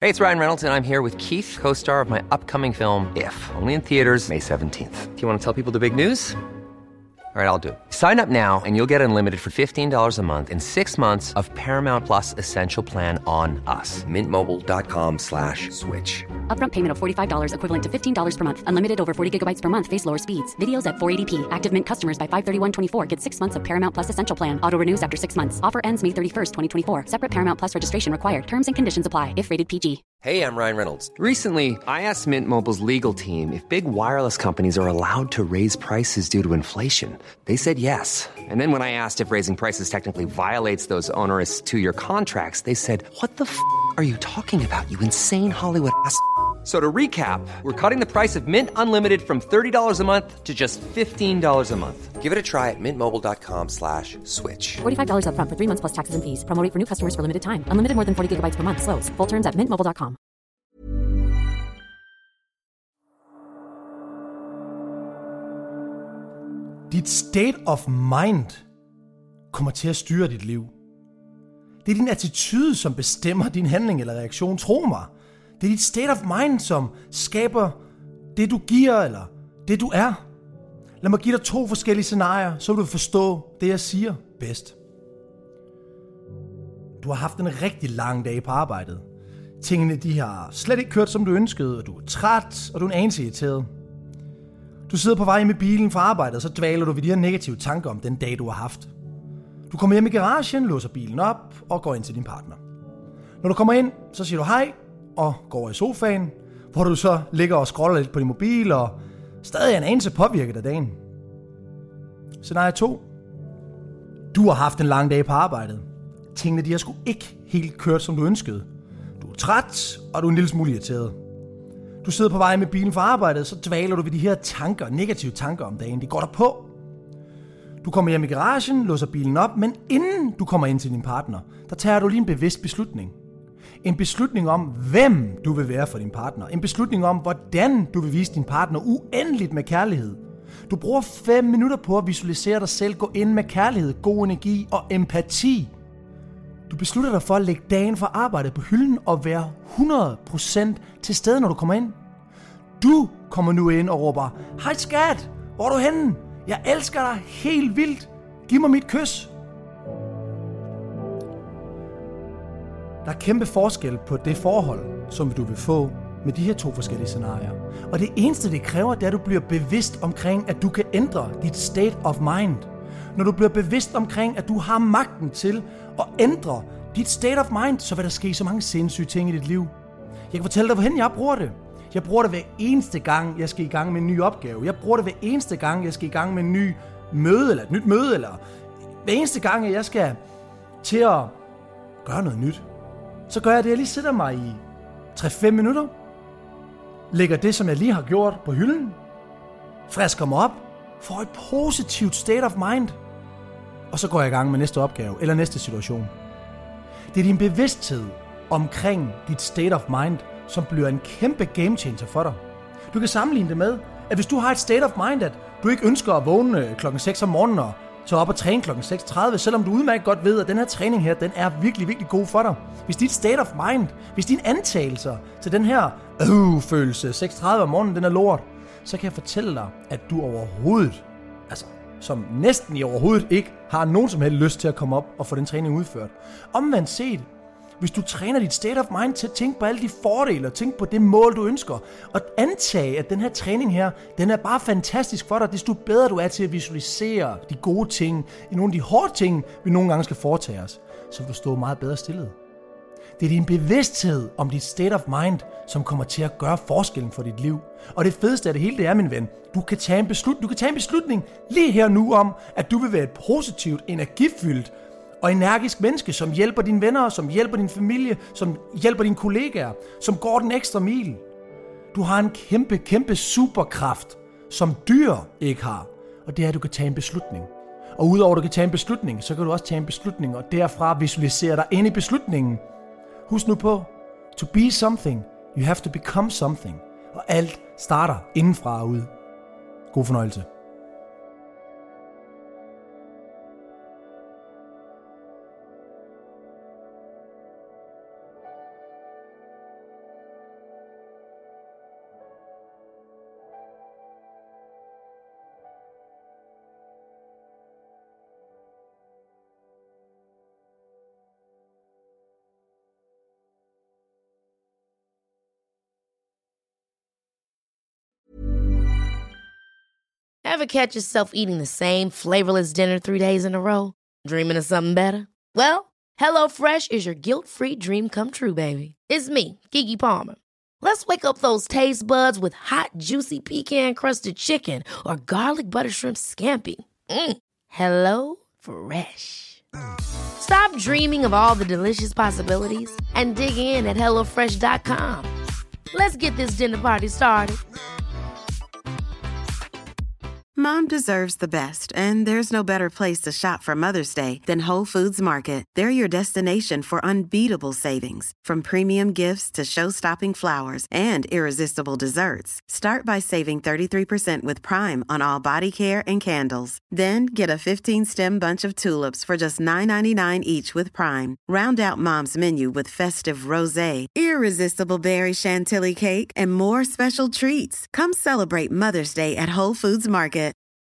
Hey, it's Ryan Reynolds, and I'm here with Keith, co-star of my upcoming film, If, only in theaters May 17th. Do you want to tell people the big news? All right, I'll do it. Sign up now and you'll get unlimited for $15 a month and 6 months of Paramount Plus Essential Plan on us. MintMobile.com/switch. Upfront payment of $45 equivalent to $15 per month. Unlimited over 40 gigabytes per month. Face lower speeds. Videos at 480p. Active Mint customers by 531.24 get 6 months of Paramount Plus Essential Plan. Auto renews after 6 months. Offer ends May 31st, 2024. Separate Paramount Plus registration required. Terms and conditions apply if rated PG. Hey, I'm Ryan Reynolds. Recently, I asked Mint Mobile's legal team if big wireless companies are allowed to raise prices due to inflation. They said yes. And then when I asked if raising prices technically violates those onerous 2-year contracts, they said, "What the f*** are you talking about, you insane Hollywood ass?" So to recap, we're cutting the price of Mint Unlimited from $30 a month to just $15 a month. Give it a try at mintmobile.com/switch. $45 upfront for 3 months plus taxes and fees. Promo rate for new customers for limited time. Unlimited more than 40 gigabytes per month. Slows full terms at mintmobile.com. Dit state of mind kommer til at styre dit liv. Det er din attitude, som bestemmer din handling eller reaktion. Tro mig. Det er dit state of mind, som skaber det, du giver, eller det, du er. Lad mig give dig 2 forskellige scenarier, så vil du forstå det, jeg siger bedst. Du har haft en rigtig lang dag på arbejdet. Tingene, de har slet ikke kørt, som du ønskede, og du er træt, og du er en anelse irriteret. Du sidder på vej hjem i bilen fra arbejdet, og så dvaler du ved de her negative tanker om den dag, du har haft. Du kommer hjem i garagen, låser bilen op og går ind til din partner. Når du kommer ind, så siger du hej og går over i sofaen, hvor du så ligger og scroller lidt på din mobil og stadig er en anelse påvirket af dagen. Scenarie 2. Du har haft en lang dag på arbejdet. Tingene, de har sgu ikke helt kørt, som du ønskede. Du er træt, og du er en lille smule irriteret. Du sidder på vej med bilen fra arbejdet, så dvaler du ved de her tanker, negative tanker om dagen. De går der på. Du kommer hjem i garagen, låser bilen op, men inden du kommer ind til din partner, der tager du lige en bevidst beslutning. En beslutning om, hvem du vil være for din partner. En beslutning om, hvordan du vil vise din partner uendeligt med kærlighed. Du bruger 5 minutter på at visualisere dig selv gå ind med kærlighed, god energi og empati. Du beslutter dig for at lægge dagen for arbejdet på hylden og være 100% til stede, når du kommer ind. Du kommer nu ind og råber, hej skat, hvor er du henne? Jeg elsker dig helt vildt. Giv mig mit kys. Der er kæmpe forskel på det forhold, som du vil få med de her 2 forskellige scenarier. Og det eneste, det kræver, det er, at du bliver bevidst omkring, at du kan ændre dit state of mind. Når du bliver bevidst omkring, at du har magten til at ændre dit state of mind, så vil der ske så mange sindssyge ting i dit liv. Jeg kan fortælle dig, hvorhen jeg bruger det. Jeg bruger det hver eneste gang, jeg skal i gang med en ny opgave. Jeg bruger det hver eneste gang, jeg skal i gang med en ny møde, eller et nyt møde, eller hver eneste gang, jeg skal til at gøre noget nyt. Så gør jeg det, jeg lige sætter mig i 3-5 minutter, lægger det, som jeg lige har gjort, på hylden, frisker mig op, får et positivt state of mind, og så går jeg i gang med næste opgave, eller næste situation. Det er din bevidsthed omkring dit state of mind, som bliver en kæmpe game changer for dig. Du kan sammenligne det med, at hvis du har et state of mind, at du ikke ønsker at vågne klokken 6 om morgenen og så op og træne klokken 6:30, selvom du udmærket godt ved, at den her træning her, den er virkelig, virkelig god for dig. Hvis dit state of mind, hvis dine antagelser til den her følelse 6:30 om morgenen, den er lort, så kan jeg fortælle dig, at du overhovedet, som næsten i overhovedet ikke, har nogen som helst lyst til at komme op og få den træning udført. Omvendt set, hvis du træner dit state of mind til at tænke på alle de fordele og tænke på det mål, du ønsker, og antage, at den her træning her, den er bare fantastisk for dig, desto bedre du er til at visualisere de gode ting, i nogle af de hårde ting, vi nogle gange skal foretage os, så vil du stå meget bedre stillet. Det er din bevidsthed om dit state of mind, som kommer til at gøre forskellen for dit liv. Og det fedeste af det hele, det er, min ven, du kan tage en beslutning lige her nu om, at du vil være et positivt, energifyldt og energisk menneske, som hjælper dine venner, som hjælper din familie, som hjælper dine kollegaer, som går den ekstra mil. Du har en kæmpe, kæmpe superkraft, som dyr ikke har, og det er, at du kan tage en beslutning. Og udover at du kan tage en beslutning, så kan du også tage en beslutning, og derfra visualisere dig ind i beslutningen. Husk nu på, to be something, you have to become something. Og alt starter indenfra og ud. God fornøjelse. Ever catch yourself eating the same flavorless dinner 3 days in a row? Dreaming of something better? Well, HelloFresh is your guilt-free dream come true, baby. It's me, Keke Palmer. Let's wake up those taste buds with hot, juicy pecan-crusted chicken or garlic butter shrimp scampi. Hello Fresh. Stop dreaming of all the delicious possibilities and dig in at HelloFresh.com. Let's get this dinner party started. Mom deserves the best, and there's no better place to shop for Mother's Day than Whole Foods Market. They're your destination for unbeatable savings, from premium gifts to show-stopping flowers and irresistible desserts. Start by saving 33% with Prime on all body care and candles. Then get a 15-stem bunch of tulips for just $9.99 each with Prime. Round out Mom's menu with festive rosé, irresistible berry chantilly cake, and more special treats. Come celebrate Mother's Day at Whole Foods Market.